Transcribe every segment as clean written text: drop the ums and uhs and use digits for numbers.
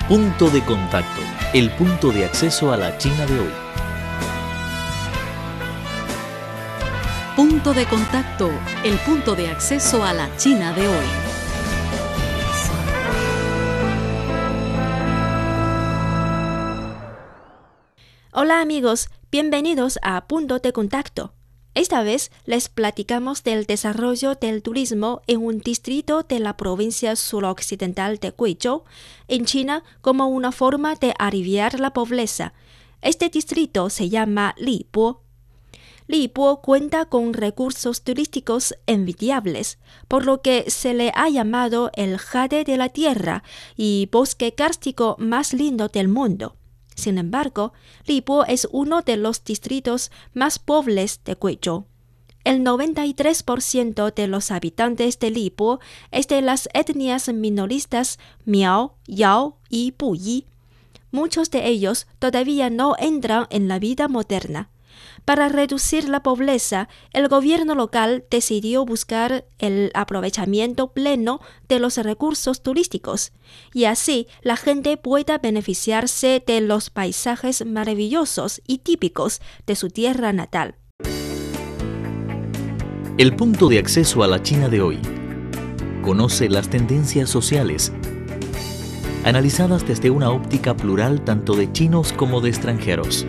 Punto de contacto, el punto de acceso a la China de hoy. Punto de contacto, el punto de acceso a la China de hoy. Hola amigos, bienvenidos a Punto de Contacto. Esta vez les platicamos del desarrollo del turismo en un distrito de la provincia suroccidental de Guizhou, en China, como una forma de aliviar la pobreza. Este distrito se llama Libo. Libo cuenta con recursos turísticos envidiables, por lo que se le ha llamado el jade de la tierra y bosque kárstico más lindo del mundo. Sin embargo, Libo es uno de los distritos más pobres de Guizhou. El 93% de los habitantes de Libo es de las etnias minoristas Miao, Yao y Puyi. Muchos de ellos todavía no entran en la vida moderna. Para reducir la pobreza, el gobierno local decidió buscar el aprovechamiento pleno de los recursos turísticos, y así la gente pueda beneficiarse de los paisajes maravillosos y típicos de su tierra natal. El punto de acceso a la China de hoy. Conoce las tendencias sociales, analizadas desde una óptica plural tanto de chinos como de extranjeros.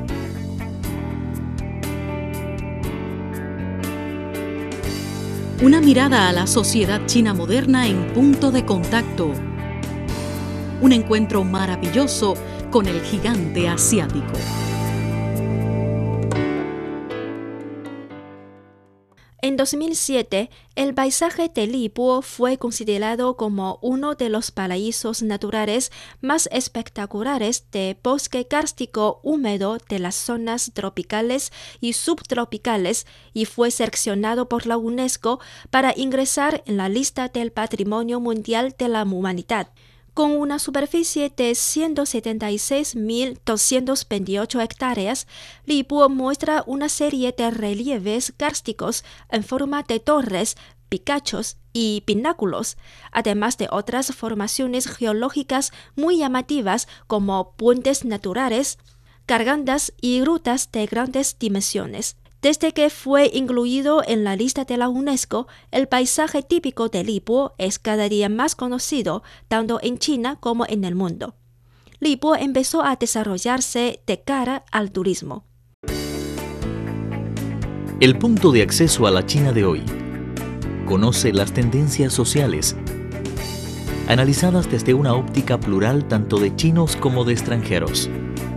Una mirada a la sociedad china moderna en Punto de Contacto. Un encuentro maravilloso con el gigante asiático. En 2007, el paisaje de Libo fue considerado como uno de los paraísos naturales más espectaculares de bosque kárstico húmedo de las zonas tropicales y subtropicales y fue seleccionado por la UNESCO para ingresar en la lista del Patrimonio Mundial de la Humanidad. Con una superficie de 176.228 hectáreas, Libo muestra una serie de relieves kársticos en forma de torres, picachos y pináculos, además de otras formaciones geológicas muy llamativas como puentes naturales, gargantas y grutas de grandes dimensiones. Desde que fue incluido en la lista de la UNESCO, el paisaje típico de Libo es cada día más conocido, tanto en China como en el mundo. Libo empezó a desarrollarse de cara al turismo. El punto de acceso a la China de hoy. Conoce las tendencias sociales, analizadas desde una óptica plural tanto de chinos como de extranjeros.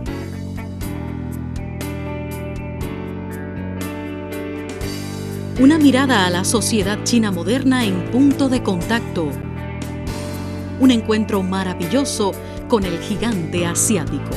Una mirada a la sociedad china moderna en Punto de Contacto. Un encuentro maravilloso con el gigante asiático.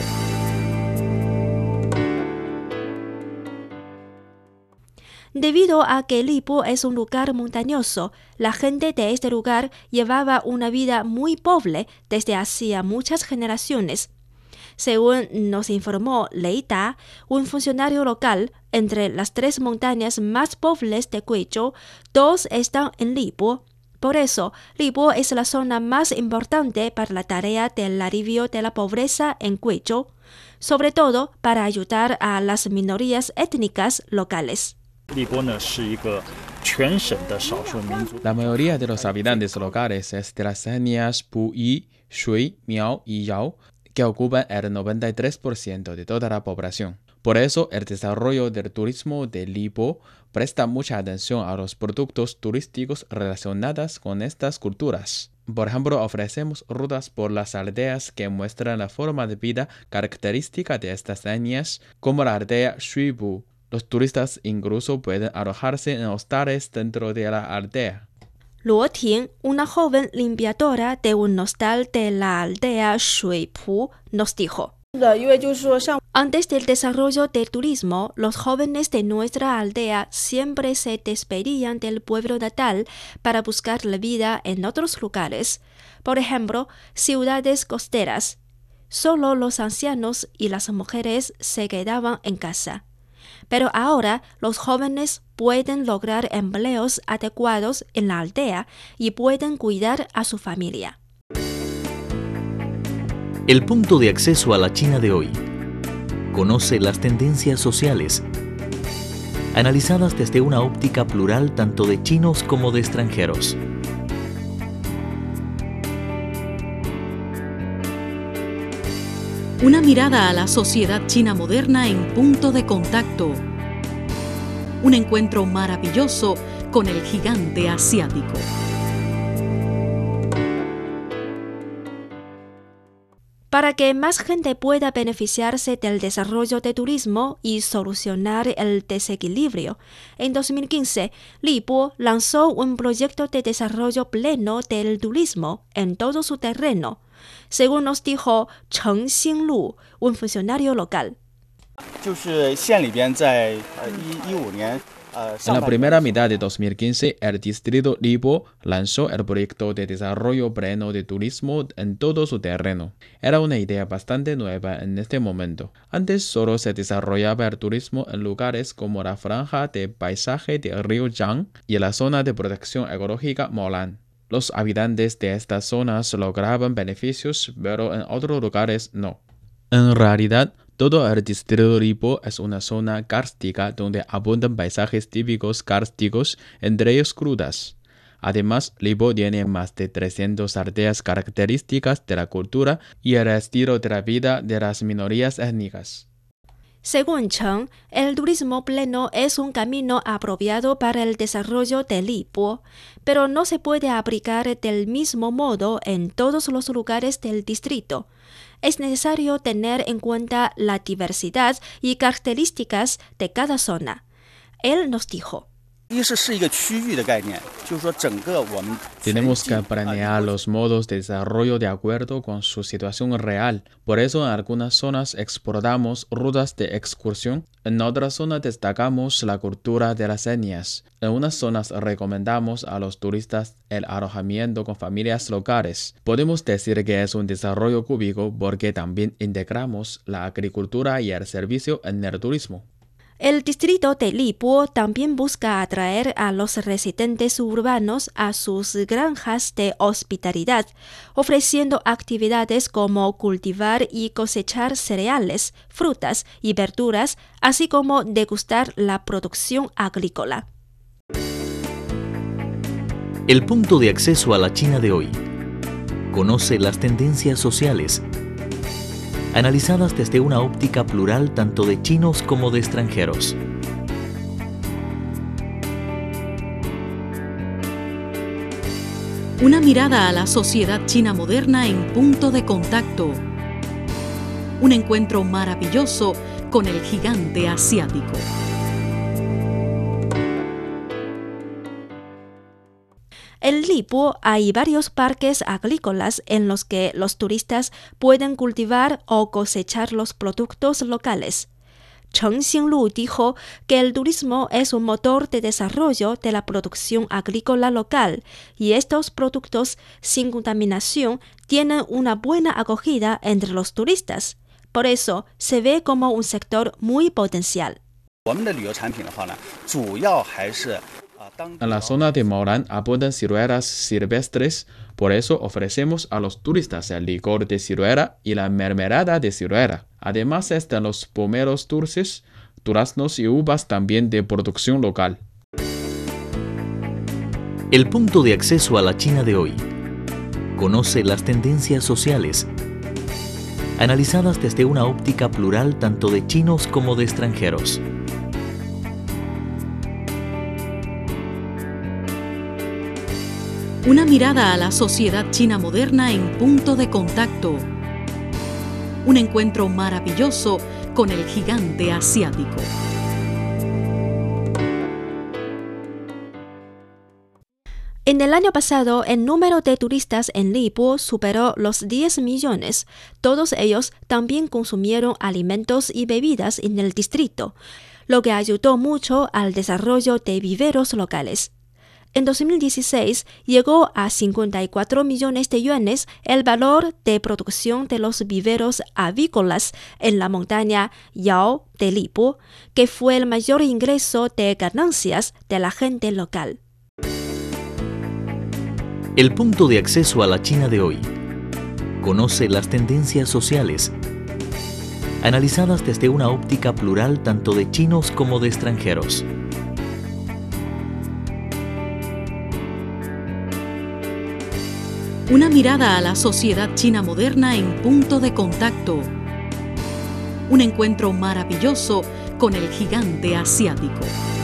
Debido a que Libo es un lugar montañoso, la gente de este lugar llevaba una vida muy pobre desde hacía muchas generaciones. Según nos informó Lei Da, un funcionario local, entre las tres montañas más pobres de Guizhou, dos están en Libo. Por eso, Libo es la zona más importante para la tarea del alivio de la pobreza en Guizhou, sobre todo para ayudar a las minorías étnicas locales. La mayoría de los habitantes locales es de las etnias Puyi, Shui, Miao y Yao, que ocupan el 93% de toda la población. Por eso, el desarrollo del turismo de Libo presta mucha atención a los productos turísticos relacionados con estas culturas. Por ejemplo, ofrecemos rutas por las aldeas que muestran la forma de vida característica de estas etnias, como la aldea Shuibu. Los turistas incluso pueden alojarse en hostales dentro de la aldea. Luo Ting, una joven limpiadora de un hostal de la aldea Shuipu, nos dijo: antes del desarrollo del turismo, los jóvenes de nuestra aldea siempre se despedían del pueblo natal para buscar la vida en otros lugares, por ejemplo, ciudades costeras. Solo los ancianos y las mujeres se quedaban en casa. Pero ahora los jóvenes pueden lograr empleos adecuados en la aldea y pueden cuidar a su familia. El punto de acceso a la China de hoy. Conoce las tendencias sociales, analizadas desde una óptica plural tanto de chinos como de extranjeros. Una mirada a la sociedad china moderna en Punto de Contacto. Un encuentro maravilloso con el gigante asiático. Para que más gente pueda beneficiarse del desarrollo del turismo y solucionar el desequilibrio, en 2015, Li Bo lanzó un proyecto de desarrollo pleno del turismo en todo su terreno, según nos dijo Cheng Xinglu, un funcionario local. En la primera mitad de 2015, el distrito Li Bo lanzó el proyecto de desarrollo pleno de turismo en todo su terreno. Era una idea bastante nueva en este momento. Antes solo se desarrollaba el turismo en lugares como la franja de paisaje del río Jiang y la zona de protección ecológica Molan. Los habitantes de estas zonas lograban beneficios, pero en otros lugares no. En realidad, todo el distrito Li Bo es una zona kárstica donde abundan paisajes típicos kársticos, entre ellos grutas. Además, Li Bo tiene más de 300 aldeas características de la cultura y el estilo de la vida de las minorías étnicas. Según Cheng, el turismo pleno es un camino apropiado para el desarrollo de Li Bo, pero no se puede aplicar del mismo modo en todos los lugares del distrito. Es necesario tener en cuenta la diversidad y características de cada zona. Él nos dijo: tenemos que planear los modos de desarrollo de acuerdo con su situación real. Por eso en algunas zonas exploramos rutas de excursión, en otras zonas destacamos la cultura de las etnias. En unas zonas recomendamos a los turistas el alojamiento con familias locales. Podemos decir que es un desarrollo cúbico porque también integramos la agricultura y el servicio en el turismo. El distrito de Li Bo también busca atraer a los residentes urbanos a sus granjas de hospitalidad, ofreciendo actividades como cultivar y cosechar cereales, frutas y verduras, así como degustar la producción agrícola. El punto de acceso a la China de hoy. Conoce las tendencias sociales, analizadas desde una óptica plural tanto de chinos como de extranjeros. Una mirada a la sociedad china moderna en Punto de Contacto. Un encuentro maravilloso con el gigante asiático. En Li Bo hay varios parques agrícolas en los que los turistas pueden cultivar o cosechar los productos locales. Cheng Xinglu dijo que el turismo es un motor de desarrollo de la producción agrícola local y estos productos sin contaminación tienen una buena acogida entre los turistas. Por eso se ve como un sector muy potencial. En la zona de Molan abundan ciruelas silvestres, por eso ofrecemos a los turistas el licor de ciruela y la mermelada de ciruela. Además están los pomelos dulces, duraznos y uvas también de producción local. El punto de acceso a la China de hoy. Conoce las tendencias sociales, analizadas desde una óptica plural tanto de chinos como de extranjeros. Una mirada a la sociedad china moderna en Punto de Contacto. Un encuentro maravilloso con el gigante asiático. En el año pasado, el número de turistas en Li Bo superó los 10 millones. Todos ellos también consumieron alimentos y bebidas en el distrito, lo que ayudó mucho al desarrollo de viveros locales. En 2016 llegó a 54 millones de yuanes el valor de producción de los viveros avícolas en la montaña Yao de Li Bo, que fue el mayor ingreso de ganancias de la gente local. El punto de acceso a la China de hoy. Conoce las tendencias sociales, analizadas desde una óptica plural tanto de chinos como de extranjeros. Una mirada a la sociedad china moderna en Punto de Contacto. Un encuentro maravilloso con el gigante asiático.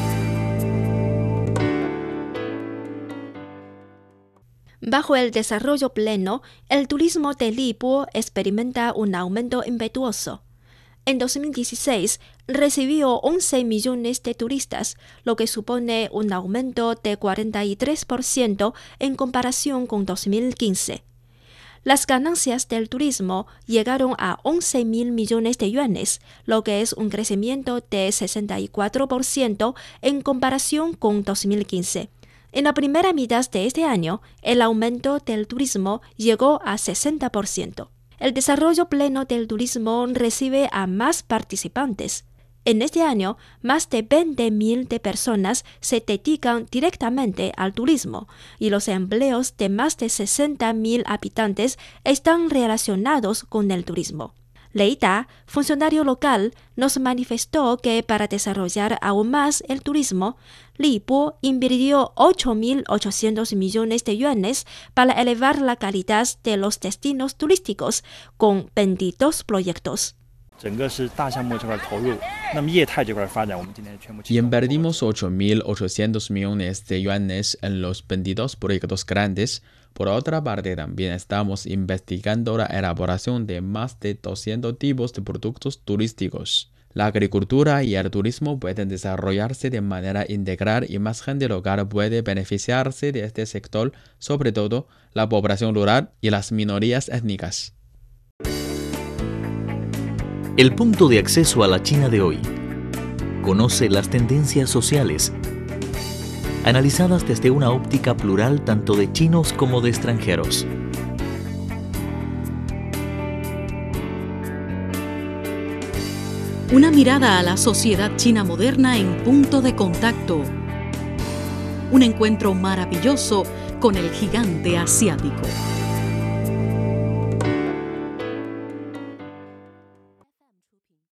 Bajo el desarrollo pleno, el turismo de Lipu experimenta un aumento impetuoso. En 2016 recibió 11 millones de turistas, lo que supone un aumento de 43% en comparación con 2015. Las ganancias del turismo llegaron a 11.000 millones de yuanes, lo que es un crecimiento de 64% en comparación con 2015. En la primera mitad de este año, el aumento del turismo llegó a 60%. El desarrollo pleno del turismo recibe a más participantes. En este año, más de 20.000 de personas se dedican directamente al turismo y los empleos de más de 60.000 habitantes están relacionados con el turismo. Lei Da, funcionario local, nos manifestó que para desarrollar aún más el turismo, Lipu invirtió 8.800 millones de yuanes para elevar la calidad de los destinos turísticos con 22 proyectos. Y invertimos 8.800 millones de yuanes en los 22 proyectos grandes. Por otra parte, también estamos investigando la elaboración de más de 200 tipos de productos turísticos. La agricultura y el turismo pueden desarrollarse de manera integral y más gente local puede beneficiarse de este sector, sobre todo la población rural y las minorías étnicas. El punto de acceso a la China de hoy. Conoce las tendencias sociales, analizadas desde una óptica plural tanto de chinos como de extranjeros. Una mirada a la sociedad china moderna en Punto de Contacto. Un encuentro maravilloso con el gigante asiático.